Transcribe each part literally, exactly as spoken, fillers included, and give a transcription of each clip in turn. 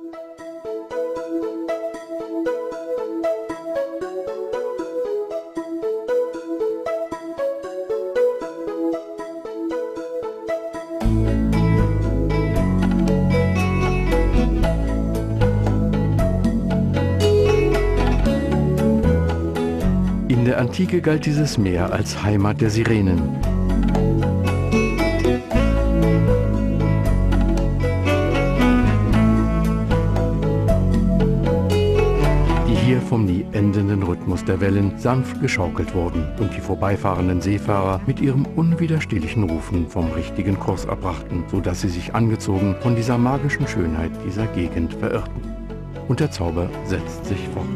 In der Antike galt dieses Meer als Heimat der Sirenen. Die hier vom nie endenden Rhythmus der Wellen sanft geschaukelt wurden und die vorbeifahrenden Seefahrer mit ihrem unwiderstehlichen Rufen vom richtigen Kurs abbrachten, sodass sie sich angezogen von dieser magischen Schönheit dieser Gegend verirrten. Und der Zauber setzt sich fort.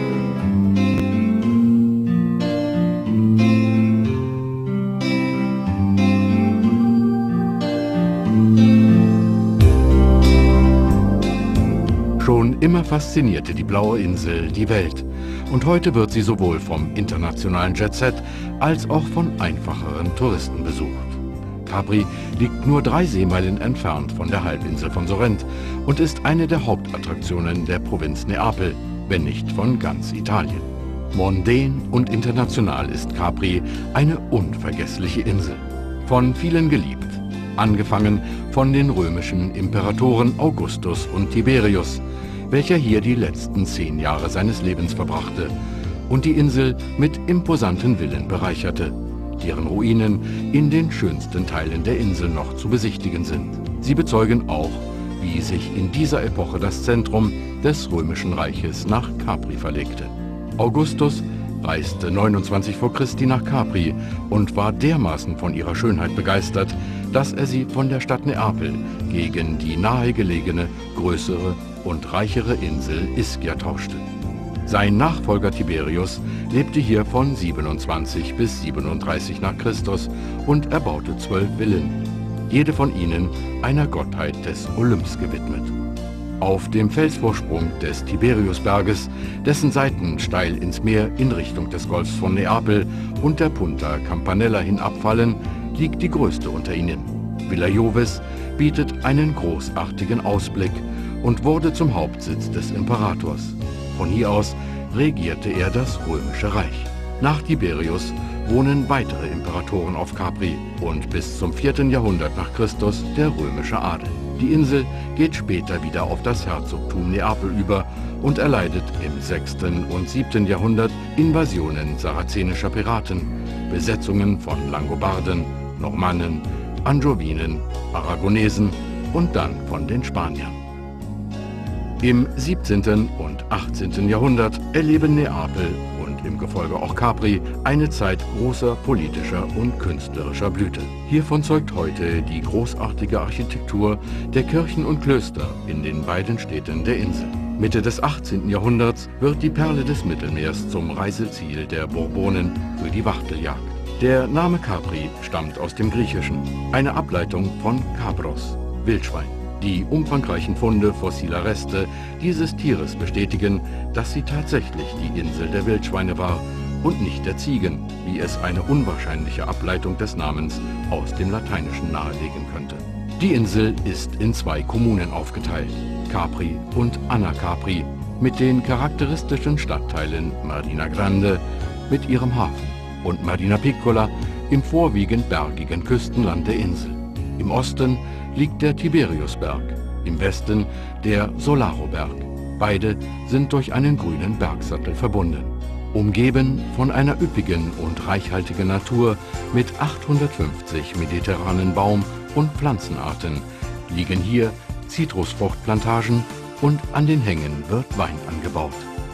Schon immer faszinierte die Blaue Insel die Welt und heute wird sie sowohl vom internationalen Jet-Set als auch von einfacheren Touristen besucht. Capri liegt nur drei Seemeilen entfernt von der Halbinsel von Sorrent und ist eine der Hauptattraktionen der Provinz Neapel, wenn nicht von ganz Italien. Mondän und international ist Capri eine unvergessliche Insel, von vielen geliebt, angefangen von den römischen Imperatoren Augustus und Tiberius, welcher hier die letzten zehn Jahre seines Lebens verbrachte und die Insel mit imposanten Villen bereicherte, deren Ruinen in den schönsten Teilen der Insel noch zu besichtigen sind. Sie bezeugen auch, wie sich in dieser Epoche das Zentrum des Römischen Reiches nach Capri verlegte. Augustus reiste neunundzwanzig vor Christi nach Capri und war dermaßen von ihrer Schönheit begeistert, dass er sie von der Stadt Neapel gegen die nahegelegene, größere und reichere Insel Ischia tauschte. Sein Nachfolger Tiberius lebte hier von siebenundzwanzig bis siebenunddreißig nach Christus und erbaute zwölf Villen, jede von ihnen einer Gottheit des Olymps gewidmet. Auf dem Felsvorsprung des Tiberiusberges, dessen Seiten steil ins Meer in Richtung des Golfs von Neapel und der Punta Campanella hinabfallen, liegt die größte unter ihnen. Villa Jovis bietet einen großartigen Ausblick und wurde zum Hauptsitz des Imperators. Von hier aus regierte er das Römische Reich. Nach Tiberius wohnen weitere Imperatoren auf Capri und bis zum vierten Jahrhundert nach Christus der römische Adel. Die Insel geht später wieder auf das Herzogtum Neapel über und erleidet im sechsten und siebten Jahrhundert Invasionen sarazenischer Piraten, Besetzungen von Langobarden, Normannen, Angevinen, Aragonesen und dann von den Spaniern. Im siebzehnten und achtzehnten Jahrhundert erleben Neapel und im Gefolge auch Capri eine Zeit großer politischer und künstlerischer Blüte. Hiervon zeugt heute die großartige Architektur der Kirchen und Klöster in den beiden Städten der Insel. Mitte des achtzehnten Jahrhunderts wird die Perle des Mittelmeers zum Reiseziel der Bourbonen für die Wachteljagd. Der Name Capri stammt aus dem Griechischen, eine Ableitung von Kapros, Wildschwein. Die umfangreichen Funde fossiler Reste dieses Tieres bestätigen, dass sie tatsächlich die Insel der Wildschweine war und nicht der Ziegen, wie es eine unwahrscheinliche Ableitung des Namens aus dem Lateinischen nahelegen könnte. Die Insel ist in zwei Kommunen aufgeteilt, Capri und Anacapri, mit den charakteristischen Stadtteilen Mardina Grande mit ihrem Hafen und Mardina Piccola im vorwiegend bergigen Küstenland der Insel. Im Osten liegt der Tiberiusberg, im Westen der Solaroberg. Beide sind durch einen grünen Bergsattel verbunden. Umgeben von einer üppigen und reichhaltigen Natur mit achthundertfünfzig mediterranen Baum- und Pflanzenarten liegen hier Zitrusfruchtplantagen und an den Hängen wird Wein angebaut.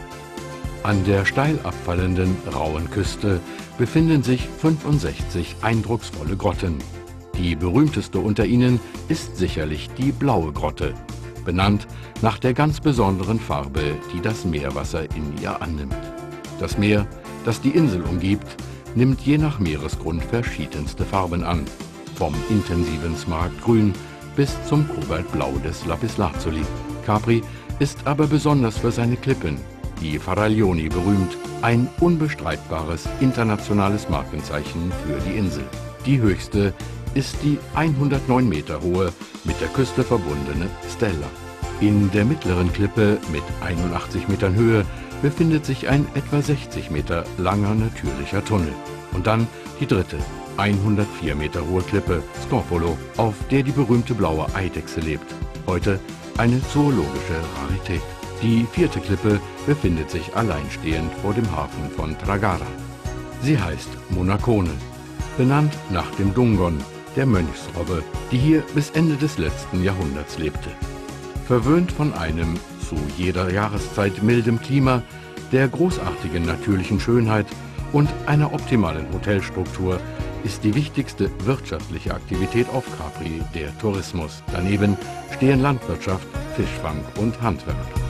An der steil abfallenden, rauen Küste befinden sich fünfundsechzig eindrucksvolle Grotten. Die berühmteste unter ihnen ist sicherlich die Blaue Grotte, benannt nach der ganz besonderen Farbe, die das Meerwasser in ihr annimmt. Das Meer, das die Insel umgibt, nimmt je nach Meeresgrund verschiedenste Farben an, vom intensiven Smaragdgrün bis zum Kobaltblau des Lapislazuli. Capri ist aber besonders für seine Klippen, die Faraglioni berühmt, ein unbestreitbares internationales Markenzeichen für die Insel. Die höchste ist die hundertneun Meter hohe, mit der Küste verbundene Stella. In der mittleren Klippe mit einundachtzig Metern Höhe befindet sich ein etwa sechzig Meter langer natürlicher Tunnel. Und dann die dritte, hundertvier Meter hohe Klippe, Scopolo, auf der die berühmte blaue Eidechse lebt. Heute eine zoologische Rarität. Die vierte Klippe befindet sich alleinstehend vor dem Hafen von Tragara. Sie heißt Monacone, benannt nach dem Dungon, der Mönchsrobbe, die hier bis Ende des letzten Jahrhunderts lebte. Verwöhnt von einem zu jeder Jahreszeit mildem Klima, der großartigen natürlichen Schönheit und einer optimalen Hotelstruktur ist die wichtigste wirtschaftliche Aktivität auf Capri der Tourismus. Daneben stehen Landwirtschaft, Fischfang und Handwerk.